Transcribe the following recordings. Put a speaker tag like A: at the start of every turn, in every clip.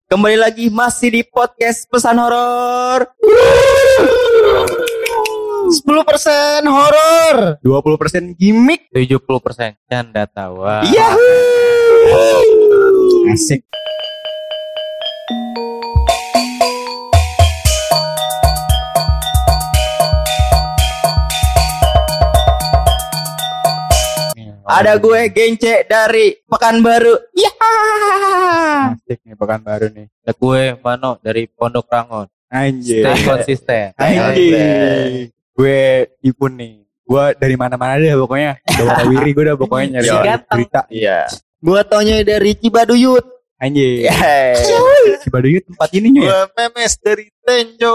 A: Kembali lagi masih di podcast Pesan Horor.
B: 10% horor,
C: 20% gimmick,
B: 70% canda tawa.
C: Yahoo! Asik.
A: Ada gue Gence dari Pekanbaru. Ya.
C: Asik nih Pekanbaru nih.
B: Ada gue Mano dari Pondok Rangon.
C: Anjir.
B: Stay konsisten.
C: Anjir. Gue Ipun nih. Gue dari mana-mana deh pokoknya. Udah warawiri gue udah pokoknya nyari berita.
A: Iya.
B: Gue taunya dari Cibaduyut.
C: Anjir. Cibaduyut tempat
B: Gue
C: ininya ya.
B: Memes dari Tenjo.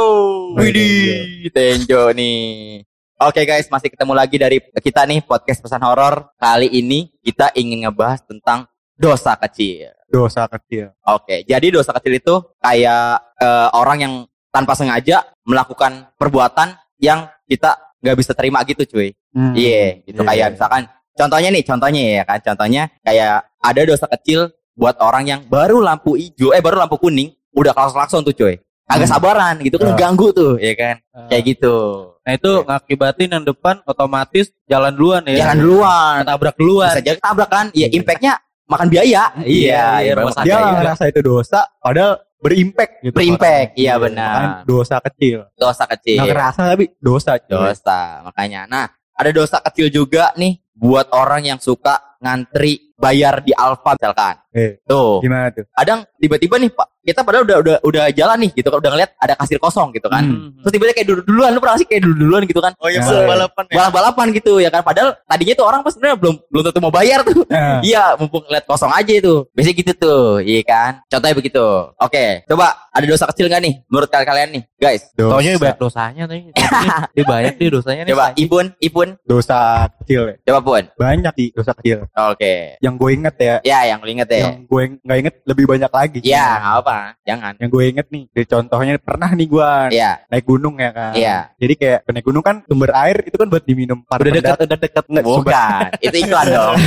A: Widih, Tenjo nih. Oke guys, masih ketemu lagi dari kita nih podcast Pesan Horor. Kali ini kita ingin ngebahas tentang dosa kecil.
C: Dosa kecil.
A: Oke, jadi dosa kecil itu kayak orang yang tanpa sengaja melakukan perbuatan yang kita nggak bisa terima gitu, cuy. Iya, gitu kayak misalkan contohnya ya kan, contohnya kayak ada dosa kecil buat orang yang baru lampu hijau, baru lampu kuning, udah klakson tuh, cuy. Agak sabaran gitu kan, ganggu tuh, ya kan, kayak gitu.
B: Nah itu ngakibatin yang depan otomatis jalan duluan ya.
A: Jalan duluan,
B: Tabrak duluan.
A: bisa jadi tabrak kan, ya impactnya makan biaya.
B: Iya,
A: rumah
B: rumah
C: Dia
A: sakit.
C: nggak ngerasa itu dosa, padahal berimpact gitu.
A: Berimpact, iya
C: Makanya
A: benar.
C: dosa kecil.
A: Dosa kecil.
C: Nggak ngerasa tapi dosa. cuy.
A: Dosa, makanya. Nah, ada dosa kecil juga nih buat orang yang suka ngantri bayar di Alfa misalkan. Tuh.
C: Gimana tuh?
A: Kadang tiba-tiba nih Pak, kita padahal udah jalan nih gitu kan, udah ngeliat ada kasir kosong gitu kan. Terus tiba-tiba kayak duluan, lu pernah sih kayak duluan gitu kan?
B: Oh iya,
C: balapan ya.
A: Balap-balapan gitu ya kan. Padahal tadinya tuh orang pas sebenarnya belum tentu mau bayar tuh. Iya, mumpung ngeliat kosong aja itu. Biasanya gitu tuh, iya kan? Contohnya begitu. Oke, coba ada dosa kecil enggak nih menurut kalian nih, guys?
B: Taunya banyak dosanya tadi. Dia banyak nih dosanya nih.
A: Coba Ipun.
C: Dosa kecil ya.
A: Coba Pun.
C: Banyak sih dosa kecil.
A: Oke.
C: Yang gue inget ya.
A: Ya, yang lu inget ya.
C: Yang gue nggak inget lebih banyak lagi.
A: Ya, nggak apa, jangan.
C: Yang gue inget nih, dari contohnya pernah nih gue
A: Iya.
C: naik gunung ya kan.
A: Iya.
C: Jadi kayak naik gunung kan sumber air itu kan buat diminum para
B: Udah
C: pendatang.
B: dekat.
C: Nggak,
A: Bukan, itu iklan dong.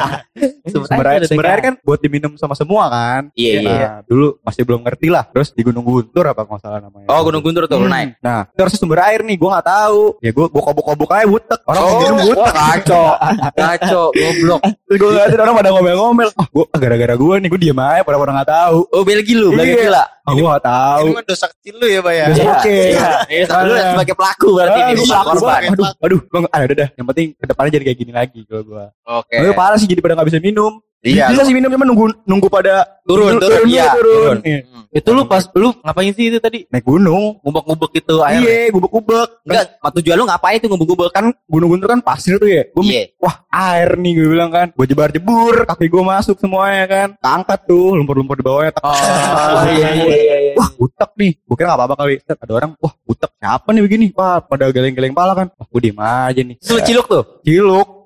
C: sumber air kan buat diminum sama semua kan.
A: Iya, iya.
C: Nah, dulu masih belum ngerti lah. Terus di Gunung Guntur apa nggak salah namanya.
A: Oh, Gunung Guntur tuh lu naik.
C: Nah, terus sumber air nih, gue nggak tahu. Ya gue kobok-kobok aja butek. Orang minum butek.
A: Kacau, goblok.
C: Terus gue ngeliatin orang pada ngomel-ngomel. Oh, gue gara-gara gue nih, gue diem aja. Pada nggak tahu.
A: Oh, Belgi lu, Belgi
C: Iya.
A: gila.
C: Oh, gue nggak tahu.
B: Ini mah dosa kecil lu ya, Pak ya.
C: Dosa kecil.
A: Lu sebagai pelaku berarti ini,
C: Gue
A: bukan
C: pelaku
A: korban.
C: banget. Aduh, gue ada. Yang penting kedepannya jadi kayak gini lagi kalau gue.
A: Oke.
C: Gue parah sih jadi pada nggak bisa minum.
A: Iya,
C: Bisa sih minum cuma nunggu pada
A: Turun. Iya, turun.
C: Iya.
B: Itu lu pas lu ngapain sih itu tadi?
C: Naik gunung.
B: Ngubek-ngubek gitu air.
C: Iya, gubek-gubek.
A: Enggak, tujuan lu ngapain tuh ngubek-ngubek?
C: Kan Gunung Guntur kan pasir tuh ya. Gue
A: Iya.
C: wah air nih gue bilang kan. Gue jebar-jebur, kaki gue masuk semuanya kan. Angkat tuh lumpur-lumpur di bawahnya.
A: Oh, iya.
C: Wah butek nih. Gue kira gak apa-apa kali. Set, ada orang, wah butek siapa nih begini. Wah pada geleng-geleng pala kan. Wah gue diem aja nih.
A: Lu ciluk tuh.
C: Ciluk.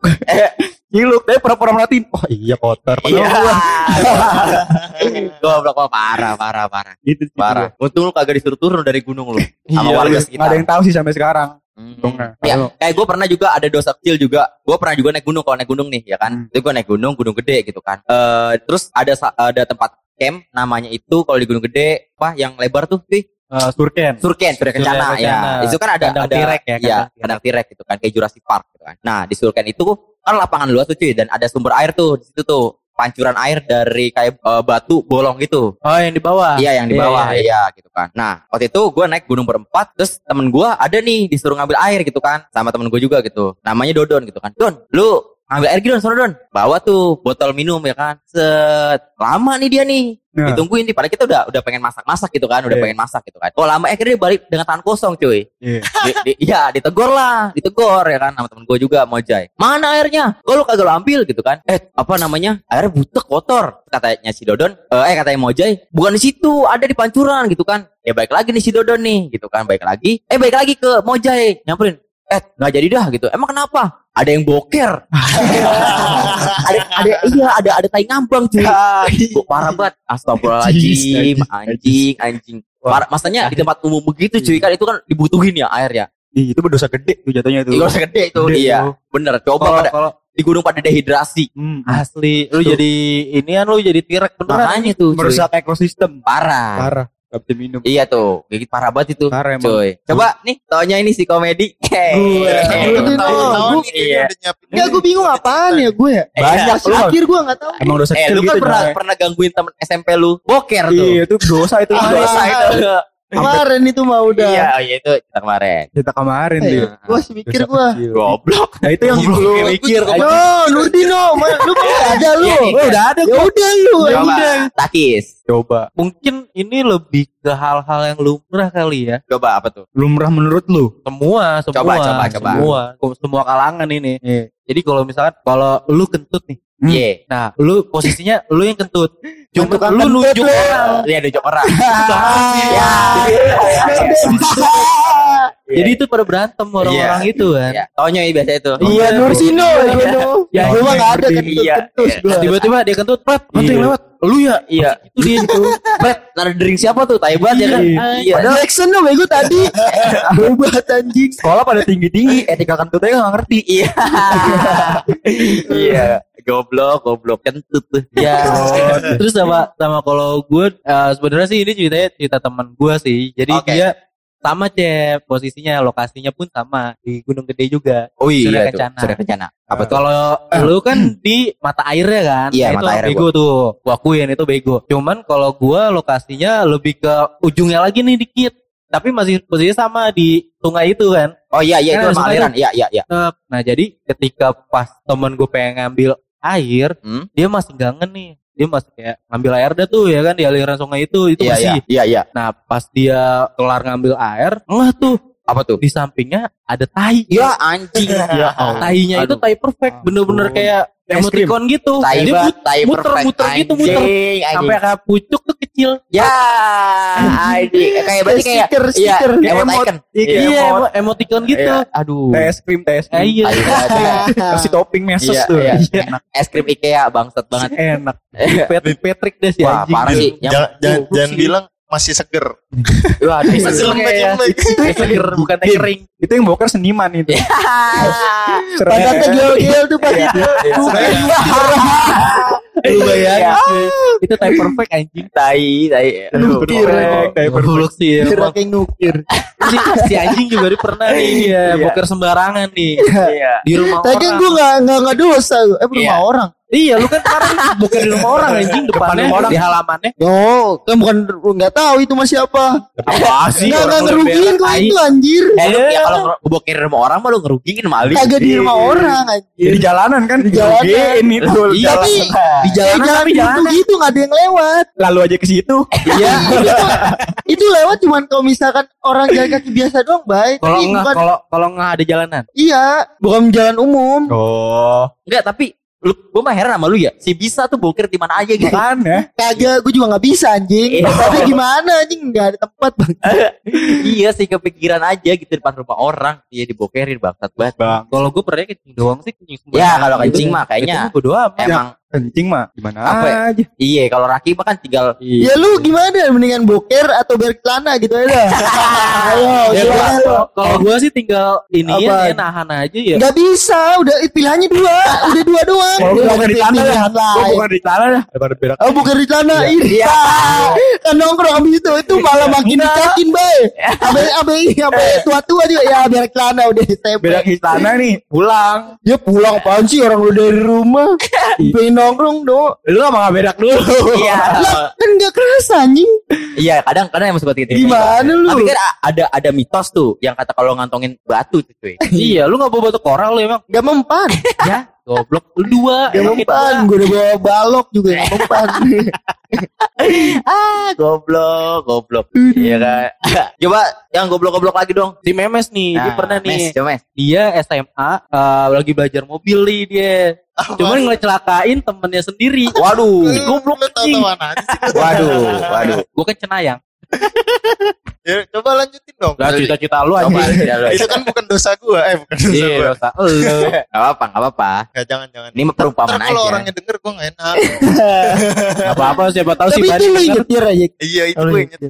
C: Ciluk. Tapi pura-pura merhatiin. Wah iya kotor.
A: Iya.
C: Padahal
A: Goblok, parah.
C: gitu.
A: Parah. Untung lu kagak disuruh turun dari gunung lu. Sama
C: Iya,
A: warga
C: gak ada
A: sekitar.
C: yang tahu sih sampai sekarang. Untungnya.
A: Ya, kayak gue pernah juga ada dosa kecil juga. Gue pernah juga naik gunung, kalau naik gunung nih, ya kan. Itu gue naik gunung gede gitu kan. Terus ada tempat camp namanya itu kalau di gunung gede apa yang lebar tuh,
C: Surken.
A: Surken Kencana ya. Itu kan ada
B: Kandang T-Rex ya,
A: ya, kandang T-Rex gitu kan, kayak Jurassic Park gitu kan. Nah, di Surken itu kan lapangan luas tuh cuy, dan ada sumber air tuh di situ tuh. Pancuran air dari kayak batu bolong gitu.
B: Oh, yang di bawah.
A: Iya, yang di bawah, iya gitu kan. Nah, waktu itu gue naik gunung berempat, terus temen gue ada nih disuruh ngambil air gitu kan, sama temen gue juga gitu. Namanya Dodon gitu kan. Don, lu ngambil air gitu sono Don. Bawa tuh botol minum ya kan. Set, lama nih dia nih.
C: Nah.
A: Ditungguin nih, padahal kita udah pengen masak gitu kan, udah
C: Iya.
A: pengen masak gitu kan. Oh lama, akhirnya dia balik dengan tangan kosong cuy.
C: Iya.
A: Iya, ditegor ya kan sama temen gue juga Mojai. Mana airnya? Kok lu kagak lu ambil gitu kan? Apa namanya? Airnya butek kotor. Katanya si Dodon, katanya Mojai, bukan di situ, ada di pancuran gitu kan. Ya baik lagi nih si Dodon nih gitu kan, baik lagi ke Mojai, nyamperin. Nggak jadi dah gitu. Emang kenapa? Ada yang boker. ada tai ngambang cuy. Parah banget. Astagfirullahaladzim, anjing. Parah, masanya di tempat umum begitu cuy, kan itu kan dibutuhin ya air ya.
C: Itu berdosa gede tuh jatuhnya tuh.
A: Itu dosa gede itu. Iya, bener. Coba di gunung pada dehidrasi.
B: Asli, lu jadi inian, lu jadi tirek beneran.
A: Makanya tuh, cuy.
C: Merusak ekosistem.
A: Parah.
C: Gak bisa minum.
A: Iya tuh, gigit parah banget itu.
C: Parah emang.
A: Cuy. Coba nih, taunya ini si komedi.
D: Tahu-tahu nih
A: Iya.
D: udah nyiapin.
E: Enggak, gue bingung apaan ya gue ya.
C: Banyak lu.
E: Akhir gue nggak tahu.
C: Emang dosa kecil
A: Lu kan
C: gitu. Coy.
A: pernah gangguin temen SMP lu boker tuh.
C: Iya, itu dosa itu.
A: Dosa itu.
E: Kemarin itu mah udah.
A: Iya, itu kita kemarin.
C: Kita kemarin dia.
E: Gue masih mikir
C: Dosa
E: gue.
C: kecil.
A: Goblok.
C: Nah itu yang lu mikir.
E: No, Nurdino, lu kan ada lu.
A: Iya, iya.
C: Udah ada.
E: Ya udah lu. Ya
A: Coba,
E: udah.
A: Takis.
C: Coba.
B: Mungkin ini lebih ke hal-hal yang lumrah kali ya.
A: Coba apa tuh?
C: Lumrah menurut lu?
B: Semua.
A: Coba.
B: Semua kalangan ini.
C: Iya.
B: Jadi kalau misalkan kalau lu kentut nih,
A: Iya.
B: nah lu posisinya lu yang kentut. Cuma
E: Tukang
B: lu
E: kentut
B: nunjuk
E: lu.
B: orang.
A: Iya, nunjuk orang.
E: Ya.
B: Jadi itu pada berantem orang-orang
A: Iya.
B: itu kan.
A: Iya. Taunya biasa itu.
E: Iya, Nursino.
B: Ya,
E: Gue mah nggak ada
A: Iya.
E: kentut gue.
B: Tiba-tiba dia kentut, Pret,
C: Iya.
B: yang lewat. Lu ya?
A: Iya.
B: Itu dia itu.
A: Pret, nada dering siapa tuh? Tai banget ya kan? Iya.
E: Jackson dong bego tadi. Hebat anjing.
C: Sekolah pada tinggi-tinggi, etika kentutnya gak ngerti.
A: Iya. Iya. Goblok kentut tuh.
B: Ya. Terus sama kalau gue sebenarnya sih ini cerita teman gue sih. Jadi
A: Oke.
B: dia sama Cep, posisinya lokasinya pun sama di Gunung Gede juga.
A: Oh iya
B: Surya
A: tuh.
B: Kencana.
A: Surya Kencana. Apa tuh?
B: Kalau lu kan di mata airnya kan,
A: Iya,
B: itu
A: mata airnya
B: bego tuh. Gua akuin itu bego. Cuman kalau gua lokasinya lebih ke ujungnya lagi nih dikit. Tapi masih posisinya sama di sungai itu kan.
A: Oh iya
B: Kan
A: itu
B: ada
A: sama
B: sungai
A: aliran. Iya.
B: Nah jadi ketika pas temen gue pengen ngambil air, dia masih gangen nih. Dia masih kayak ngambil air dah tuh ya kan di aliran sungai itu masih.
A: Iya.
B: Nah pas dia kelar ngambil air, tuh
A: Apa tuh?
B: di sampingnya ada tai.
A: Ya anjing. Ya Allah.
B: Tainya itu tai perfect, bener-bener kayak emoticon gitu.
A: Tai
B: Dia
A: banget, tai perfect.
B: muter gitu, muter
A: Anjing.
B: sampai kayak pucuk tuh kecil.
A: Ya, anjing. Kayak berarti kayak
E: Stiker.
A: Iya, icon.
B: Iya, emoticon gitu.
A: Iya. Aduh.
C: Es krim.
B: Iya.
A: Tai banget, ya.
C: Kasih topping mesos
A: Iya,
C: tuh.
A: iya. Enak. Es krim IKEA bangsat banget.
C: Enak.
B: Patrick deh si
A: Wah,
B: anjing.
A: parah sih.
D: Jangan bilang masih seger.
A: Waduh.
D: Masih lembek-lembek.
B: Seger bukan teh kering.
C: Itu yang boker seniman itu.
E: Pantatnya gel-gel tuh pasti.
B: Lu bayangin itu tai perfect anjing.
A: Tai.
E: Nukir.
B: Goblok sih
E: Kira
B: emang.
E: kayak nukir.
B: Si anjing juga dia pernah nih ya, boker sembarangan nih.
A: Iya.
B: Di rumah
E: Tapi kan
B: orang.
E: gue nggak dosa. Rumah
A: Iya.
E: orang.
B: Iya, lu kan kemarin boker di rumah orang anjing depannya
C: rumah orang.
B: di halamannya.
E: Oh, kan bukan nggak tahu itu masih apa.
A: Apa sih?
E: Nggak ngerugiin kok itu anjir.
A: Lu ya kalau ngebokin rumah orang mah lu ngerugiin maling.
E: Kagak di rumah orang anjir.
C: Di jalanan kan.
E: Di jalanan.
C: Dirugiin itu.
A: Iya,
E: Tapi
A: di
E: jalan
B: tapi
E: jalan gitu nggak ada yang lewat.
C: Lalu aja ke situ.
B: Iya.
E: Itu lewat cuman kalau misalkan orang jalan kaki biasa doang, baik.
B: Kalau
E: Tapi
B: enggak
E: bukan-
B: kalau enggak ada jalanan.
E: Iya, bukan jalan umum.
C: Oh.
A: Enggak, tapi gue mah heran sama lu ya. Si bisa tuh boker di mana aja gitu.
C: Kan ya.
E: Kagak, gue juga nggak bisa anjing.
A: Iya.
E: Tapi gimana anjing nggak ada tempat bang.
A: Iya sih, kepikiran aja gitu depan rumah orang. Iya, dibokerin bangsat banget.
C: Bang.
B: Kalau gue pernah kencing doang sih, kencing sembarangan.
A: Ya, kalau kencing mah kayaknya
B: gue doang.
A: emang
C: Kencing mah gimana
A: Apa ya?
C: aja.
A: iya, kalau Raki mah kan tinggal
E: Ya lu gimana? Mendingan boker atau berak celana gitu aja. Ayo,
B: Ya,
E: gimana lu?
B: kalau gue sih tinggal ini
E: Apa?
B: ya nahan aja ya.
E: Nggak bisa, udah pilihannya dua, udah dua doang.
C: Kalau
E: Udah
C: bukan di tanah
E: pilihan
C: ya. Gua
E: lain.
C: bukan di tanah dah. Daripada berak.
E: Oh bukan di celana, iya. Kan nongkrong abis itu malah makin dicakin bay. Abe tua-tua juga ya berak celana udah SMP.
C: Berak di tanah nih. Pulang.
E: Ya pulang apaan sih orang udah dari rumah. Pengen nongkrong do.
C: Lu gak berak dulu.
A: iya.
E: Lah kan nggak kerasa anjing.
A: Iya, kadang emang seperti itu.
E: Gimana lu?
A: Tapi kan ada mitos tuh yang kata kalau ngantongin batu tuh, cuy.
B: Iya, lu enggak bawa batu koral lu emang.
E: Gak mempan.
B: Ya, goblok lu dua.
E: Gak mempan. Gue udah bawa balok juga gak mempan.
A: Goblok. Iya kan. Coba yang goblok-goblok lagi dong.
B: Si Memes nih, dia pernah nih.
A: Coba Mes.
B: Dia SMA lagi belajar mobil nih dia. Cuman ngecelakain temennya sendiri.
A: Waduh.
B: Si goblok
D: Lu
B: anjing.
D: tahu-tahuan aja sih.
A: Waduh.
B: Gue kan cenayang.
D: Ya, coba lanjutin dong.
B: Lah cita-cita lu
A: Coba
B: anjing.
D: Itu kan bukan dosa gua. Bukan dosa
B: Iya,
D: gua.
B: dosa lu.
A: Gak apa-apa.
D: Enggak, jangan.
A: Ini mah perumpamaan
D: Ntar kalau
A: aja.
D: orangnya denger gua enggak enak.
B: Apa-apa siapa tahu si
E: Tapi itu
B: Bani
E: lu
B: denger.
E: nyetir aja.
D: Iya, itu
E: Oh,
D: gue
E: iya.
D: nyetir.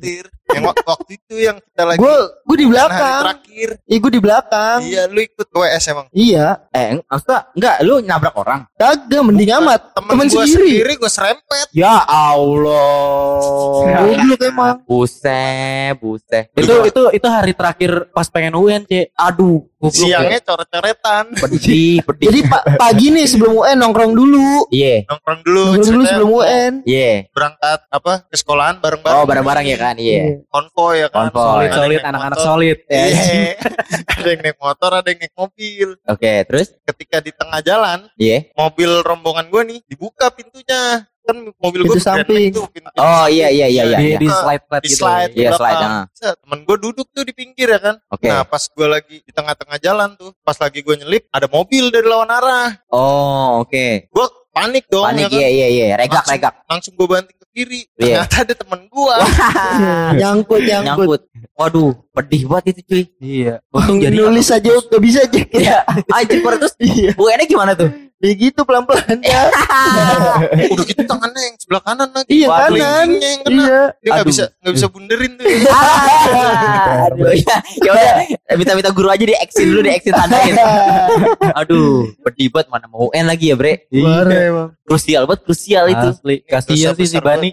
D: Yang waktu itu yang kita lagi
E: Gue di
D: hari
E: belakang.
D: terakhir.
E: Iya gue di belakang.
D: Iya, lu ikut ke WS emang.
E: Iya.
A: Maksudnya enggak, lu nabrak orang.
E: Kagak, mending amat.
D: Temen
E: Temen
D: gue
E: sendiri.
D: sendiri gue serempet.
A: Ya Allah.
E: Goblok emang.
A: Buset.
B: Itu hari terakhir pas pengen UN, Cek. Aduh, goblok.
D: Siangnya coret-coretan.
A: Pedih.
E: Jadi pagi nih sebelum UN nongkrong dulu.
A: Iya.
D: Nongkrong dulu.
E: Nongkrong dulu
D: ceritanya
E: sebelum UN.
A: Iya.
D: berangkat ke sekolahan bareng-bareng.
A: Oh, bareng-bareng ya kan? Iya.
D: Konvoy ya kan.
A: Konvoy.
D: Ada yang
B: Solid,
D: naik
B: anak-anak
D: motor.
B: solid.
D: Iya. Ada yang naik motor, ada yang naik mobil.
A: Oke, terus?
D: Ketika di tengah jalan,
A: Iya.
D: mobil rombongan gue nih dibuka pintunya. Kan mobil gue
E: Pintu samping.
A: Oh, iya.
B: Di slide
D: di slide
A: Iya,
D: di
A: slide,
D: belakang. Set, temen gue duduk tuh di pinggir ya kan.
A: Oke.
D: Nah pas gue lagi di tengah-tengah jalan tuh, pas lagi gue nyelip ada mobil dari lawan arah.
A: Oh, oke.
D: Gue panik dong.
A: Panik,
D: ya kan?
A: iya. Regak.
D: Langsung gue banting ke kiri.
A: Iya.
D: Ternyata ada temen gue.
E: Nyangkut.
A: Nyangkut. Waduh, pedih banget itu cuy.
B: Iya.
A: Untung jadi
E: Nulis aja gak bisa aja.
A: Iya. Anjir, terus UN-nya gimana tuh?
E: Ya gitu pelan-pelan ya.
D: Udah gitu tangannya yang sebelah kanan lagi.
E: Iya
D: Waduh,
E: kanan.
D: ininya yang kena.
E: Iya.
D: Dia nggak
A: Aduh.
D: bisa bunderin tuh.
A: Aduh, ya udah, minta guru aja di exit dulu, di exit tandain. Aduh, pedih banget, mana mau UN lagi ya, Bre?
E: Parah emang.
A: Krusial itu.
B: Asli. Kasihan sih si
D: Besar
B: Bani.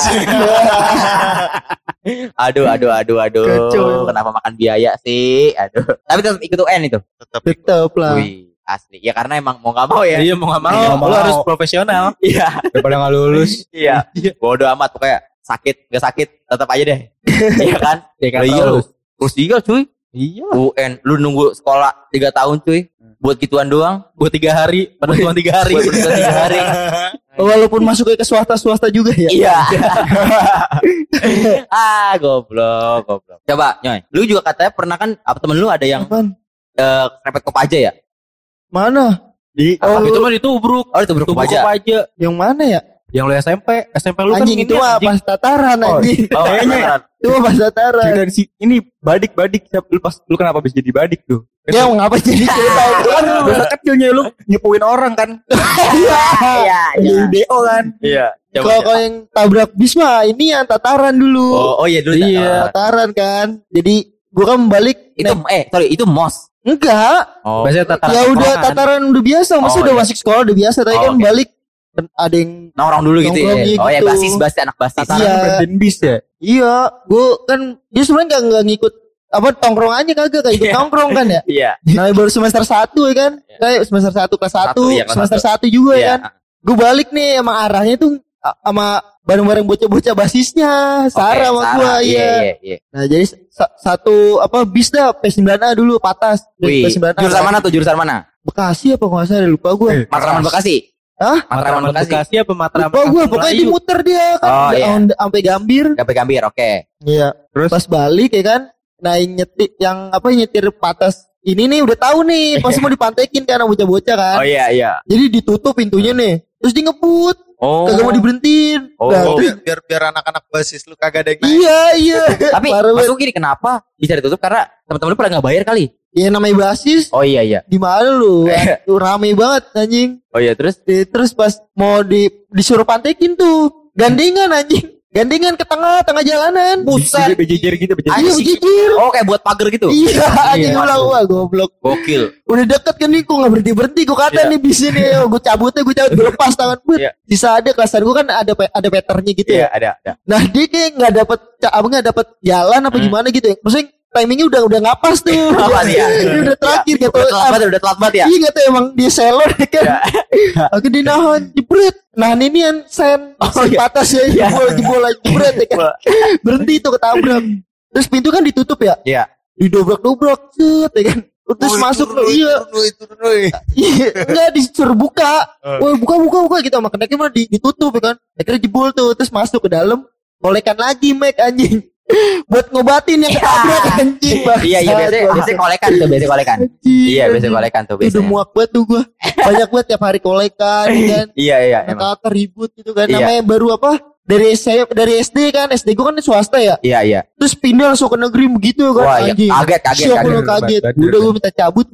A: Aduh.
E: Kacau.
A: Kenapa makan biaya sih? Aduh. Tapi tetap ikut UN itu.
E: Tetep lah.
A: Wih, asli. Ya karena emang mau gak mau ya.
B: Iya, mau enggak mau.
C: Mau.
B: Lu harus profesional.
A: Iya.
C: Daripada nggak lulus.
A: Iya. Bodoh amat pokoknya. Sakit, gak sakit, tetap aja deh. Iya kan?
B: Ya kan,
A: Iya lu.
B: terus.
A: Krusial cuy.
B: Iya.
A: UN, lu nunggu sekolah 3 tahun cuy. Buat gituan doang.
B: Buat 3 hari, padahal cuma 3 hari.
A: Buat 3 hari.
E: Walaupun masuknya ke swasta juga ya.
A: Iya. Goblok. Coba, Nyoy. Lu juga katanya pernah kan, apa temen lu ada yang
E: Apaan?
A: kerepet Kopaja ya?
E: Mana?
B: Itu mah ditubruk.
A: Oh, itu berkopaja.
B: Kopaja.
E: Yang mana ya?
B: Yang lu SMP lu kan
E: Anjing itu mah pas tataran anjing.
A: Oh,
C: Kayaknya.
E: Itu mah pas tataran.
C: Dan si ini badik lu kenapa bisa jadi badik tuh?
E: Ya ngapa jadi cerita itu kan
C: Dosa kecilnya lu nyepuin orang kan.
A: Iya.
C: Jadi DO kan.
A: Iya.
E: Kalau yang tabrak bis mah ini yang tataran dulu.
A: Oh iya dulu.
B: Iya.
E: Tataran kan. Jadi gua kan balik
A: Itu itu MOS.
E: enggak.
A: Oh.
B: Biasanya tataran.
E: Ya udah
B: tongkrongan.
E: tataran udah biasa, maksudnya
A: Oh,
E: udah
A: iya.
E: masuk sekolah udah biasa, tapi
A: Oh,
E: kan
A: oke.
E: balik ada yang
A: Nongkrong dulu gitu ya.
E: Nongkrongnya
A: Oh ya,
E: gitu.
A: basis anak basis.
E: Tataran. Iya.
C: Berden bis ya.
E: iya, gua kan dia sebenarnya nggak ngikut apa tongkrongannya kagak kayak ikut nongkrong kan ya.
A: Iya.
E: Nah, baru semester 1 ya kan. Kayak semester 1 kelas 1,
A: Satu, iya, kelas
E: semester
A: satu.
E: 1 juga ya
A: Iya.
E: kan. Gue balik nih emang arahnya tuh sama bareng-bareng bocah-bocah basisnya, Sarah sama gua iya.
A: Iya.
E: Nah, jadi satu apa bis dah P9A dulu patas.
A: Wih,
E: P9A.
A: jurusan mana tuh? Jurusan mana?
E: Bekasi apa nggak salah lupa gua.
A: Matraman Bekasi.
E: Hah?
A: Matraman Bekasi.
B: Bekasi apa Matraman?
E: Lupa gua pokoknya
B: Melayu?
E: dimuter dia kan
A: Oh, iya.
E: sampai Gambir.
A: Gambir, oke.
E: Iya.
C: Terus?
E: Pas balik ya kan, naik nyetir patas ini nih udah tahu nih, pasti mau dipantekin kan sama bocah-bocah kan.
A: Oh iya.
E: Jadi ditutup pintunya nih. Terus dia ngebut,
A: Oh.
E: kagak mau diberhentiin.
A: Oh.
E: Nah, terus-
D: biar anak-anak basis lu kagak ada yang naik.
E: iya.
A: Tapi
E: Parah banget.
A: maksud gini, kenapa bisa ditutup? Karena teman-teman lu pada nggak bayar kali.
E: Ya namanya basis.
A: Oh iya.
E: Di mana lu? Tuh rame banget anjing.
A: Oh iya, terus
E: Terus pas mau disuruh pantekin tuh, gandengan anjing. Gandengan ke tengah jalanan.
A: Buset.
C: Bejejer gitu,
E: Iya,
A: Anjing.
E: jijir.
A: Oh, kayak buat pagar gitu.
E: Iya, anjing
A: Iya.
E: ulang wah goblok.
A: Gokil.
E: Udah deket kan nih, kok nggak berhenti gue kata
A: Iya.
E: nih bis ini, gue cabut, gue lepas tangan, but.
A: Iya.
E: Sisa ada kelasan gue kan ada peternya gitu
A: Iya,
E: ya.
A: ada.
E: Nah dia kayak nggak dapet jalan apa gimana gitu ya. Maksudnya timingnya udah nggak pas tuh.
A: Apa dia?
E: Dia udah terakhir gitu.
A: Udah telat banget ya.
E: Iya nggak tahu emang dia selor ya kan. Aku dinahan jebret. Nah ini yang sen patas ya jebol lagi jebret ya kan. Berhenti tuh ketabrak. Terus pintu kan ditutup ya.
A: Iya.
E: Didobrak-dobrak set ya kan. Terus masuk
D: lu,
E: iya. Iya, enggak disuruh buka. Woi, buka gitu sama keneknya malah ditutup ya kan. Akhirnya jebol tuh, terus masuk ke dalam, kolekan lagi Mac anjing. Buat ngobatin yang ketabrak anjing.
A: Iya, biasanya kolekan tuh, Iya, biasanya kolekan tuh
E: Udah
A: biasanya.
E: muak banget tuh gua. Banyak banget tiap hari kolekan kan.
A: Iya, emang.
E: Kata ribut gitu kan.
A: Iya.
E: Namanya baru apa? Dari SD kan. SD gua kan swasta ya.
A: Iya.
E: Terus pindah langsung ke negeri begitu kan.
A: Wah, iya.
E: anjing.
A: Kaget.
E: Syok lu kaget.
C: Bader.
E: Udah gua minta cabut gua.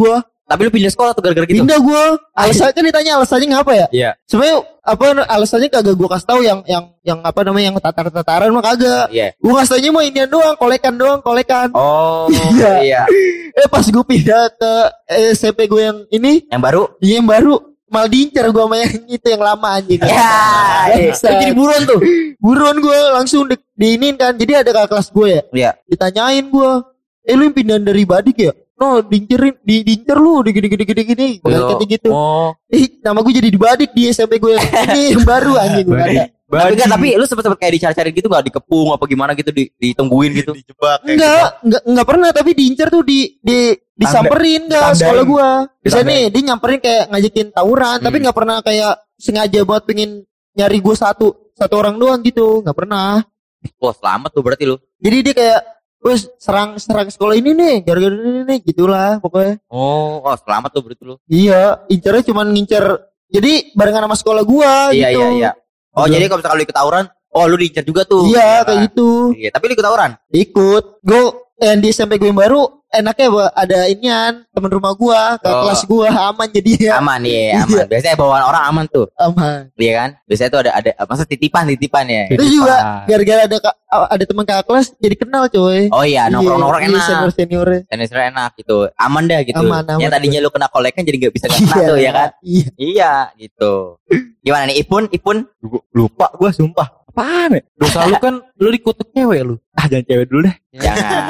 A: Tapi lu pindah sekolah tuh gara-gara gitu.
E: Pindah gue. Alasannya kan ditanya alasannya ngapa ya?
C: Iya.
E: Sebenarnya apa alasannya kagak gue kasih tahu yang apa namanya yang tatar-tataran mah kagak.
A: Iya.
E: Gue kasih taunya mah inian doang, kolekan.
A: Oh,
E: Iya.
A: iya.
E: Pas gue pindah ke SMP gue yang ini,
A: Yang baru?
E: dia yang baru malah diincar gue sama yang itu yang lama anjing.
A: Ya,
E: Bangsat.
A: jadi buruan tuh.
E: Buruan gue langsung diinin kan. Jadi ada kakak kelas gue ya.
A: Iya.
E: Ditanyain gue, lu yang pindahan dari Badik ya? No, diincer lu, gini. Kayak gitu.
B: Oh.
E: Nama gue jadi di Badik di SMP gue yang ini yang baru anjing gue kata.
A: Tapi lu sempet kayak dicari-cari gitu gak? Dikepung apa gimana gitu, ditungguin gitu.
D: Dijebak kayak
E: Enggak pernah, tapi diincer tuh disamperin enggak sekolah gua. Bisa nih dia nyamperin kayak ngajakin tawuran, tapi enggak pernah kayak sengaja buat pengen nyari gua satu orang doang gitu, enggak pernah.
A: Wah, selamat tuh berarti lu.
E: Jadi dia kayak wes serang sekolah ini nih, gara-gara ini nih gitulah pokoknya.
A: Oh, selamat tuh berarti lu.
E: Iya, incernya cuma ngincer. Jadi barengan sama sekolah gua gitu.
A: Iya. Oh, jadi kalau misalkan lu ikut tawuran, lu diincar juga tuh.
E: Iya, kayak gitu.
A: Iya, tapi lu ikut tawuran?
E: Ikut. Gue yang di SMP gue yang baru enaknya ada inian teman rumah gua ke kelas gua aman jadi ya.
A: Aman ya, aman. Biasanya bawaan orang aman tuh.
E: Aman.
A: Iya kan? Biasanya tuh ada masa titipan ya.
E: Itu juga gara-gara ada teman kakak kelas jadi kenal coy.
A: Oh iya, nongkrong enak.
E: Senior
A: enak gitu. Aman dah gitu.
E: Aman,
A: yang tadinya lu kena kolekan jadi enggak bisa kena tuh ya kan? Iya, gitu. Gimana nih Ipun?
C: Lupa gue sumpah. Apaan ya?
B: Dosa lu kan lu dikutuk cewek lu.
C: Jangan cewek dulu deh.
A: Jangan.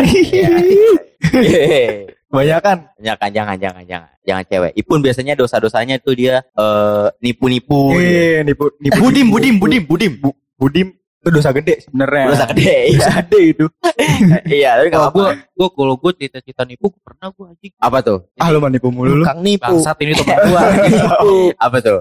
C: Kebanyakan.
A: Jangan cewek. Ipun biasanya dosa-dosanya tuh dia nipu-nipu.
C: Nipu.
A: Budim
C: itu dosa gede sebenarnya.
A: Dosa gede.
C: Dosa gede itu.
A: Iya, tapi enggak apa-apa.
B: Kalau gue cita-cita nipu pernah gue anjing.
A: Apa tuh?
C: Lu mah nipu mulu lu.
E: Kang nipu.
B: Bangsat ini teman gue.
A: Apa tuh?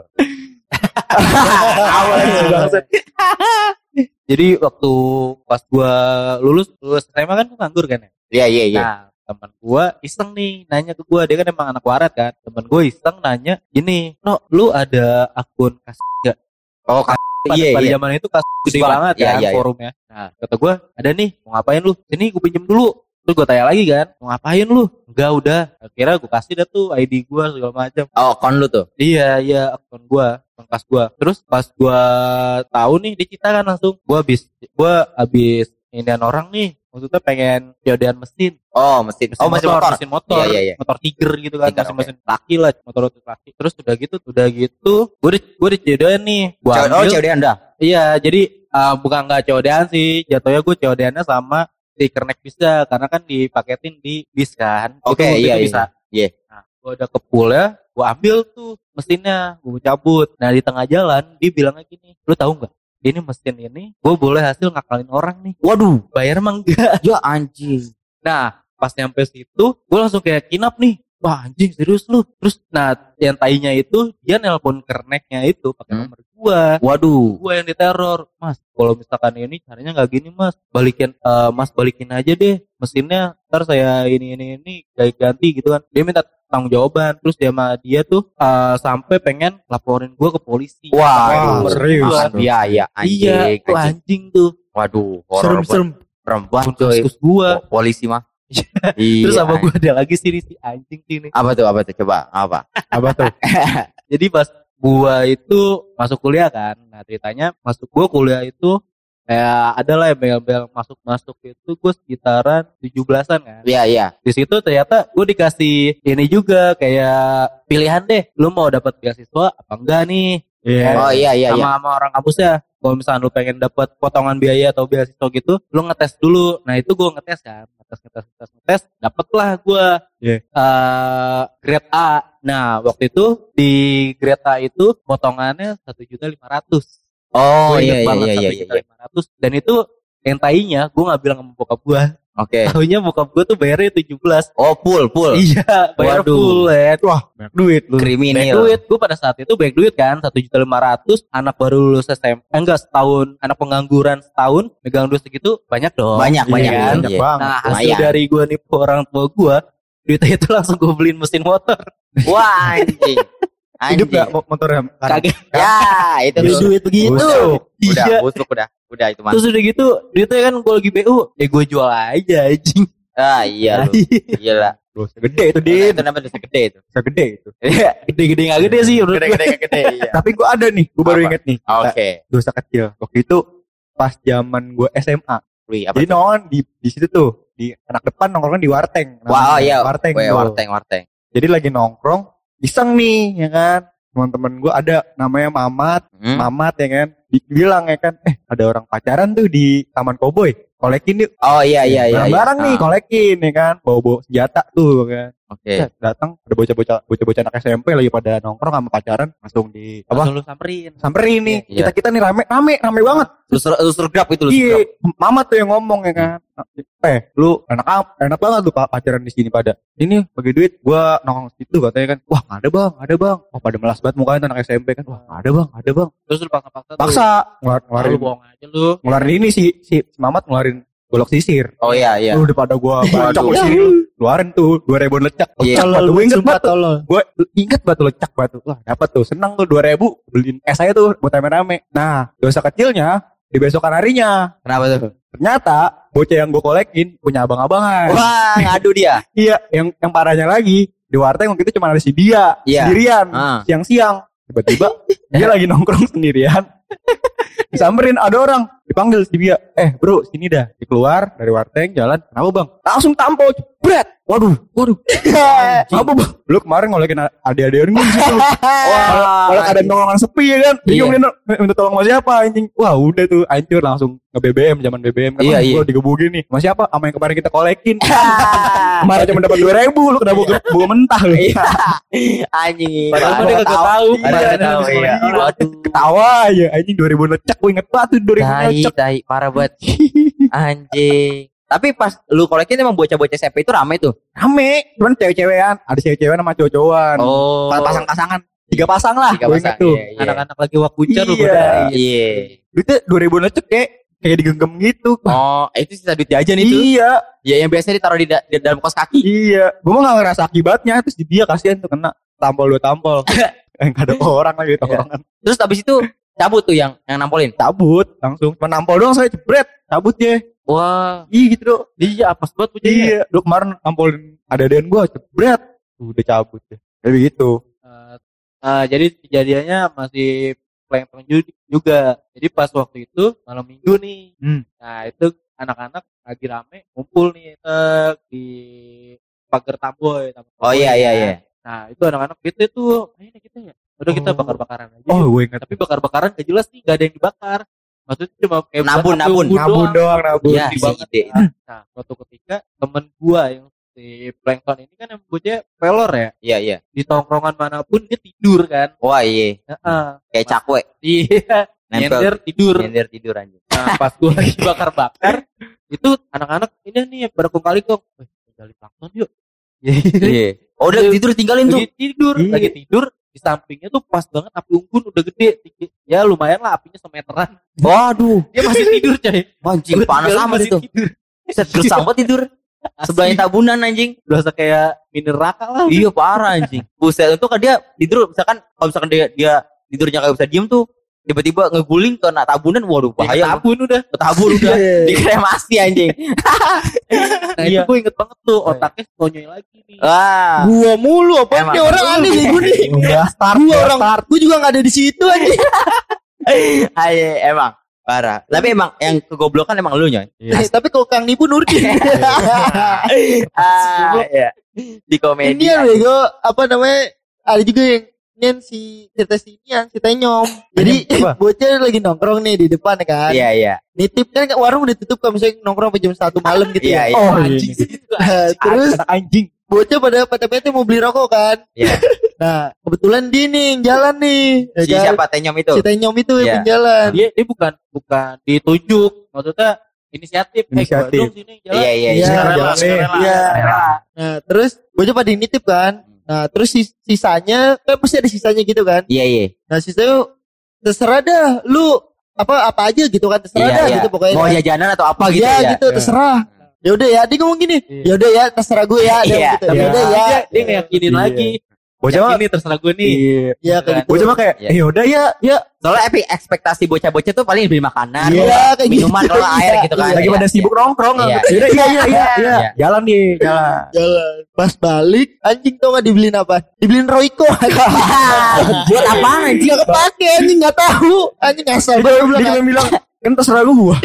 B: Jadi waktu pas gue lulus SMA kan gue nganggur kan ya.
A: Iya.
B: Nah teman gue iseng nih nanya ke gue, dia kan emang anak warat kan. Temen gue iseng nanya gini, no lu ada akun kasih gak?
A: Oh
B: pada zaman itu kasih gede banget kan forumnya. Nah kata gue ada nih, mau ngapain lu? Sini gue pinjem dulu. Terus gue tanya lagi kan, mau ngapain lu? Enggak udah. Akhirnya gue kasih dah tuh ID gue segala macam.
A: Oh akun lu tuh?
B: Iya akun gue, akun kas gue. Terus pas gue tahu nih dia cerita kan langsung, gue abis inian orang nih. Maksudnya pengen jodohan mesin.
A: Oh mesin motor.
B: Mesin motor.
A: Iya.
B: Motor Tiger gitu kan.
A: Tiger,
B: mesin laki lah. Motor laki. Terus udah gitu. Gue dijodohan nih.
A: Jodohan dah?
B: Iya jadi bukan gak jodohan sih. Jatuhnya gue jodohannya sama di kernek bisa. Karena kan dipaketin di bis kan.
A: Oke, iya.
B: Bisa.
A: Iya.
B: Nah gue udah ke pool ya. Gue ambil tuh mesinnya. Gue cabut. Nah di tengah jalan dia bilangnya gini. Lu tahu gak? Ini mesin ini gue boleh hasil ngakalin orang nih. Waduh, bayar emang enggak?
A: Ya anjing.
B: Nah, pas nyampe situ, gue langsung kayak kinap nih. Wah anjing serius lu. Terus, nah yang tainya itu dia nelpon kerneknya itu pakai nomor gue.
A: Waduh.
B: Gue yang diteror. Mas, kalau misalkan ini caranya nggak gini mas. Balikin aja deh mesinnya. Ntar saya ini ganti gitu kan. Dia minta tanggung jawaban. Terus dia tuh sampai pengen laporin gue ke polisi.
A: Wah,
C: serius.
A: Iya, anjing.
B: Iya, itu anjing tuh.
A: Waduh, horor
E: serem.
A: Perempuan coy.
B: Kasus gue.
A: Polisi mah.
B: Terus apa gue ada lagi sih si anjing sini.
A: Apa tuh? Coba, apa?
C: Apa tuh?
B: Jadi pas gue itu masuk kuliah kan. Nah ceritanya masuk gue kuliah itu adalah yang bel-bel masuk itu gue sekitaran 17-an kan.
A: Iya.
B: Di situ ternyata gue dikasih ini juga kayak pilihan deh, lu mau dapat beasiswa apa enggak nih?
A: Oh iya.
B: Sama orang kampusnya. Kalau misalnya lu pengen dapat potongan biaya atau beasiswa gitu, lu ngetes dulu. Nah itu gue ngetes kan, ngetes, dapatlah gue grade A. Nah waktu itu di grade A itu potongannya 1.500.000.
A: Oh iya.
B: 1.500.000. Dan itu yang tainya gue nggak bilang sama bokap gue.
A: Oke.
B: Tahunya bokap gue tuh bayarnya 17.
A: Oh full.
B: Iya, bayar
A: Waduh.
B: full ya.
C: Wah, banyak duit lu.
A: Kriminal.
B: Banyak duit. Gue pada saat itu banyak duit kan, 1.500.000. Anak baru lulus SMA, setahun. Anak pengangguran setahun, megang duit segitu banyak dong.
A: Banyak.
B: kan?
C: Banyak banget.
B: Nah hasil
A: Lumayan.
B: dari gue nipu orang tua gue, duitnya itu langsung gue beliin mesin motor.
A: Wah anjing.
C: Hidup gak motornya?
B: Kaget.
A: Ya itu
E: Beli
A: tuh.
E: duit begitu.
B: Iya.
A: Busuk udah itu mah.
B: Terus udah gitu, duitnya kan gue lagi BU, gue jual aja anjing.
A: Ah iya lu. Gila.
C: Dosa gede itu Din.
A: Itu namanya dosa gede itu.
C: Dosa gede itu.
B: Gede-gede nggak gede sih menurut gue.
A: Gede-gede iya.
C: Tapi gue ada nih, gue baru
A: Apa?
C: inget nih.
A: Oke.
C: Dosa kecil. Waktu itu pas zaman gue SMA.
A: Wih, apa
C: Jadi
A: tuh?
C: nongkrong di situ tuh, di anak depan nongkrong di warteng.
A: Wah, iya.
C: Warteng.
A: Weh,
C: tuh.
A: warteng.
C: Jadi lagi nongkrong, iseng nih, ya kan. Teman-teman gue ada namanya Mamat ya kan. Bilang ya kan, ada orang pacaran tuh di Taman Koboi. Kolekin yuk.
A: Oh iya.
C: Barang-barang nih, kolekin ya kan. Bawa senjata tuh kan.
A: Oke.
C: Set, datang ada bocah-bocah anak SMP lagi pada nongkrong sama pacaran, langsung
B: Langsung lu
C: samperin nih.
A: Iya.
C: Kita nih rame banget.
A: Terus grab itu lu.
C: Iya, Mama tuh yang ngomong ya kan. Lu enak banget tuh Pak pacaran di sini pada. Ini bagi duit gua nongkrong situ katanya kan. Wah, nggak ada bang. Oh, pada melas banget mukanya anak SMP kan. Wah, nggak ada bang.
B: Terus lu paksa
C: Paksa
B: lu
C: ngeluarin
B: bohong aja lu.
C: ini si Mamat ngeluarin golok sisir.
A: Oh iya.
C: Lu udah pada gua bacok di sini lu. Keluarin tuh 2.000 lecak.
A: Iya.
C: Gue inget banget tuh.
E: tolol.
C: Gue inget banget tuh lecak banget tuh. Wah, dapat tuh. Senang tuh 2.000 beliin es aja tuh buat rame-rame. Nah, dosa kecilnya di besokan harinya.
A: Kenapa tuh?
C: Ternyata bocah yang gue kolekin punya abang-abangan.
A: Wah, ngadu dia.
C: Iya, yang parahnya lagi di warteg waktu itu cuma ada si dia
A: Iya.
C: sendirian.
A: Ah.
C: Siang-siang tiba-tiba dia lagi nongkrong sendirian. Disamperin ada orang, dipanggil si dia. Bro, sini dah. Dikeluar dari warteg, jalan. Kenapa bang? Langsung tampol, jebret. Waduh. Apa bang? Lu kemarin ngolekin adik-adik gue gitu.
A: Wah.
C: Kalau ada nongkrongan sepi ya kan. Bingung
A: Iya.
C: dia minta tolong sama siapa anjing. Wah udah tuh hancur langsung nge-BBM. Zaman BBM kan.
A: Iya, iya.
C: Gue digebukin nih. Sama siapa? Sama yang kemarin kita kolekin. Kemarin cuma dapat 2.000. Lu kena buka mentah lu.
A: Iya. Anjing.
B: Padahal dia kagak tahu.
A: Padahal kagak tahu, iya. Waduh.
C: Ketawa aja anjing 2.000 lecak. Gue inget banget tuh 2.000 lecak.
A: Tai, parah banget. Anjing. Tapi pas lu kolekin emang bocah-bocah SMP itu rame tuh.
C: Rame. Cuman cewek-cewekan. Ada cewek-cewekan sama cowok-cowokan.
A: Oh.
C: Pasang-pasangan. 3 pasang lah.
A: 3
C: Gue
A: pasang,
C: inget tuh.
A: iya.
B: Anak-anak lagi wakuncar lu
C: Iya.
B: godain.
A: Iya.
C: Itu 2.000 lecak kayak digenggam gitu.
A: Oh, itu sisa duit jajan itu.
C: Iya.
A: Ya yang biasa ditaruh di dalam kos kaki.
C: Iya, gue mah gak ngerasa akibatnya. Terus di dia kasihan tuh kena tampol 2 tampol. Gak ada orang lagi tongkrongan.
A: Terus habis itu cabut tuh yang nampolin.
C: Cabut langsung. Cuma nampol doang saya jebret. Cabut ya.
A: Wah.
C: Iya gitu dong.
B: Dia apes banget bocahnya.
C: Iya. Lu kemarin nampolin ada-adaan gue jebret. Udah cabut ya. Kayak begitu.
B: Jadi kejadiannya masih plankton juga. Jadi pas waktu itu malam minggu nih. Nah itu anak-anak lagi rame ngumpul nih di pagar Tamboy.
A: Oh iya.
B: Nah itu anak-anak gitu tuh. Ini kita ya. Udah kita bakar-bakaran aja.
C: Oh gue inget.
B: Tapi bakar-bakaran gak jelas nih, gak ada yang dibakar. Maksudnya cuma kayak
A: Nabun.
C: Nabun doang.
A: Iya,
B: Sedih
A: si
B: banget.
A: ide.
B: Nah suatu ketika temen gua yang si plankton ini kan yang bocahnya pelor ya.
A: Iya.
B: Di tongkrongan manapun dia tidur kan.
A: Wah, iya.
B: Heeh.
A: Kayak cakwe.
B: Iya.
A: Nempel.
B: Nyender tidur.
A: Tidur anjing.
B: Nah pas gua lagi bakar-bakar itu anak-anak ini nih pada kali kok. Gali plankton yuk.
A: Iya. Oh, udah tidur tinggalin tuh.
B: Lagi tidur,
C: Iya.
B: lagi tidur di sampingnya tuh pas banget api unggun udah gede. Ya lumayan lah apinya semeteran.
A: Waduh.
B: Dia masih tidur coy.
A: Anjing
B: Gua
A: panas
B: tinggal
A: amat
B: masih
A: itu.
B: tidur.
A: Set gersang banget tidur. Sebelahnya tabunan anjing.
B: Berasa kayak mini neraka lah.
A: Iya parah anjing. Buset itu kan dia tidur misalkan kalau misalkan dia tidurnya kayak bisa diem tuh tiba-tiba ngeguling kena tabunan, waduh bahaya.
B: Tabun udah.
A: Ketabur udah dikremasi anjing.
B: Nah itu gue inget banget tuh otaknya konyoy lagi nih.
A: Wah.
E: Gua mulu apa
A: Emang.
E: nih orang aneh nih gue nih. Gua orang gue juga gak ada di situ aja.
A: Ayo emang parah. Tapi emang yang kegoblokan emang lu nyoy.
E: Tapi kalau Kang Nipu Nurdin.
A: Iya. Di komedi.
E: Ini ya bego apa namanya? Ada juga yang si cerita sinian, si Tenyom. Jadi
C: Apa?
E: bocah lagi nongkrong nih di depan kan.
A: Iya.
E: Nitip kan warung udah tutup kan misalnya nongkrong sampai jam 1 malam gitu
A: Iya,
E: ya.
A: iya.
C: Oh
B: Anjing
C: iya.
B: sih itu.
E: Terus
C: Anak anjing.
E: bocah pada bete mau beli rokok kan.
A: Iya.
E: Nah, kebetulan dia nih yang jalan nih. ya
A: Si
E: kan?
A: siapa Tenyom itu?
E: Si Tenyom itu
A: Iya.
E: yang jalan.
B: Dia bukan ditunjuk, maksudnya inisiatif.
C: Inisiatif.
B: Gua dong sini jalan.
A: Iya.
E: Iya,
B: Sukarela,
C: jalan nih.
B: sukarela.
E: Iya.
B: Sukarela.
E: Nah, terus bocah pada nitip kan. Nah, terus sisanya kan pasti ada sisanya gitu kan.
A: Iya.
E: Nah, sisanya terserah dah lu apa aja gitu kan, terserah dah gitu pokoknya.
A: Mau
E: kan.
A: jajanan atau apa gitu
E: ya,
A: ya?
E: gitu terserah. Ya udah ya, dia ngomong gini.
B: Iya.
E: Ya udah ya, terserah gue ya. Dia
A: Iya.
E: gitu.
B: Tapi
E: Ya udah ya.
B: dia ngeyakinin
C: Iya.
B: lagi.
C: Bocah mah
B: ini terserah gue nih.
E: Iya kayak gitu.
C: Bocah mah kayak
A: Iya.
C: yaudah ya.
A: Soalnya ekspektasi bocah-bocah tuh paling beli makanan,
E: Iya, kayak
A: minuman,
E: gitu.
A: kalau air gitu kan.
C: Lagi
A: Iya,
C: pada sibuk nongkrong.
A: Iya.
C: Yaudah iya.
A: Iya.
C: Jalan nih, jalan.
E: Jalan. Pas balik anjing tau gak dibeliin apa? Dibeliin Royco.
A: Buat apaan anjing?
E: Gak kepake anjing gak tahu. Anjing asal
C: Dia
E: baru bilang.
C: cuma bilang kan terserah gua.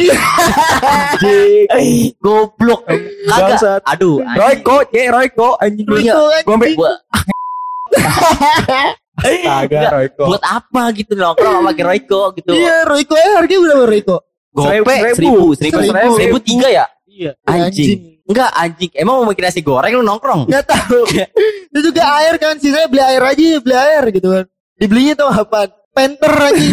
A: Goblok. Kagak.
C: Bangsat.
A: Aduh. anjing.
C: Royco anjing.
E: Royco
C: Gua sampai
A: Buat,
C: kagak Royco.
A: buat apa gitu nongkrong sama pakai Royco gitu.
E: Iya Royco harganya berapa Royco?
A: Gope
C: Seribu.
A: 1000 ya?
B: Iya.
A: Anjing. Enggak anjing. Emang mau bikin nasi goreng lu nongkrong?
E: Gak tahu. Itu juga air kan. Sisanya beli air aja, beli air gitu kan. Dibelinya tuh apa? Penter aja.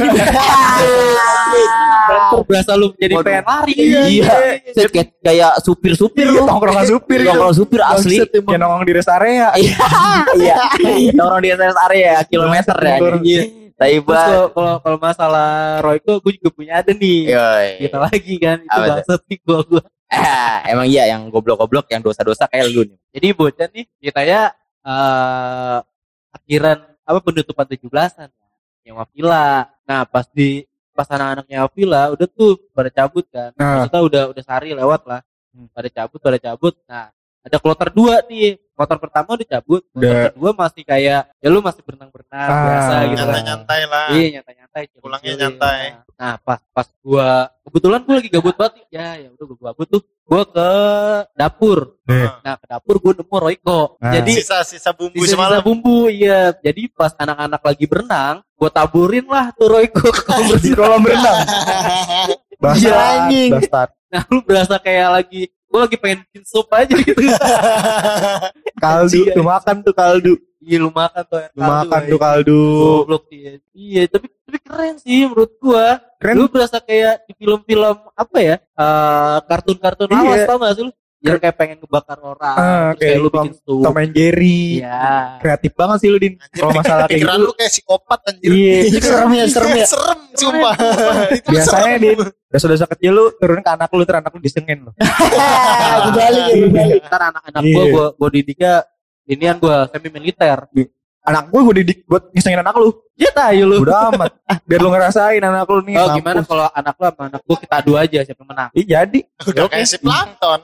B: Penter berasa lu jadi pengen lari.
A: Iya. Set, kayak supir-supir lu.
C: Nongkrongan supir itu.
A: Nongkrong supir asli.
E: Bangsat emang.
C: Kayak nongkrong di rest area.
A: Iya. Nongkrong di rest area kilometer ya.
B: Iya. Terus
A: Taiba.
B: kalau masalah Royco gue juga punya ada nih.
A: Yoi.
B: Kita lagi kan itu
A: Apa tuh?
B: bangsat sih gua.
A: Emang iya yang goblok-goblok yang dosa-dosa kayak lu nih.
B: Jadi bocah nih ceritanya akhiran apa penutupan 17-an nyewa villa. Nah, pas anak-anak nyewa villa udah tuh pada cabut kan.
C: Nah.
B: Maksudnya udah sehari lewat lah. Pada cabut. Nah, ada kloter 2 nih. Kloter pertama udah cabut, kloter kedua masih kayak ya lu masih berenang-berenang biasa gitu kan.
D: Nyantai-nyantai lah.
B: Iya, nyantai-nyantai.
D: Pulangnya
B: chilling-chilling.
D: nyantai.
B: Nah, pas gua kebetulan gua lagi gabut banget. Ya udah gua gabut tuh. Gua ke dapur. Nah, ke dapur gua nemu Royco.
C: Nah.
B: Jadi
D: Sisa-sisa bumbu
B: sisa-sisa
D: semalam.
B: bumbu, iya. Jadi pas anak-anak lagi berenang, gua taburin lah tuh Royco ke kolam
C: Di
B: berenang.
C: kolam berenang.
E: Iya, anjing.
C: Bastard.
B: Nah, lu berasa kayak gua lagi pengen bikin sup aja gitu.
C: Kaldu,
B: Iya.
C: tuh makan tuh kaldu.
B: Iya, lu makan tuh air
C: Lu makan
B: kaldu,
C: tuh kaldu.
B: Goblok dia. Iya, tapi keren sih menurut gua.
C: Keren.
B: Lu berasa kayak di film-film apa ya? Kartun-kartun
C: Iya.
B: lawas tau gak sih lu? Yang kayak pengen ngebakar orang. Terus kayak lu bikin sup.
C: Tom and Jerry.
B: Iya.
C: Kreatif banget sih lu Din. Kalau masalah kayak
D: Pikiran
C: gitu.
D: lu kayak psikopat anjir.
C: Iya.
E: Serem ya.
D: Serem sumpah. Itu
C: Biasanya
D: serem.
C: Din, dosa-dosa kecil lu turunin ke anak lu, terus anak lu disengin lu.
E: Kembali ya kembali.
B: Ntar anak-anak
C: Iya.
B: gua didiknya inian gua semi militer.
C: Anak gue didik buat ngisengin anak lu.
B: Ya tahu lu.
C: Udah amat. Biar lu ngerasain anak lu nih.
B: Oh,
C: mampus.
B: gimana kalau anak lu sama anak gua kita adu aja siapa yang menang?
C: Ih, jadi.
D: Udah kayak si plankton.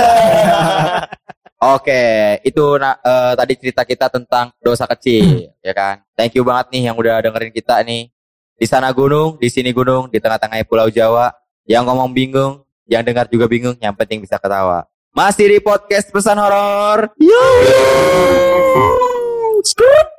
A: Oke, itu tadi cerita kita tentang dosa kecil, ya kan. Thank you banget nih yang udah dengerin kita nih. Di sana gunung, di sini gunung, di tengah-tengah Pulau Jawa. Yang ngomong bingung, yang dengar juga bingung, yang penting bisa ketawa. Masih di podcast Pesan Horor.
C: Skip.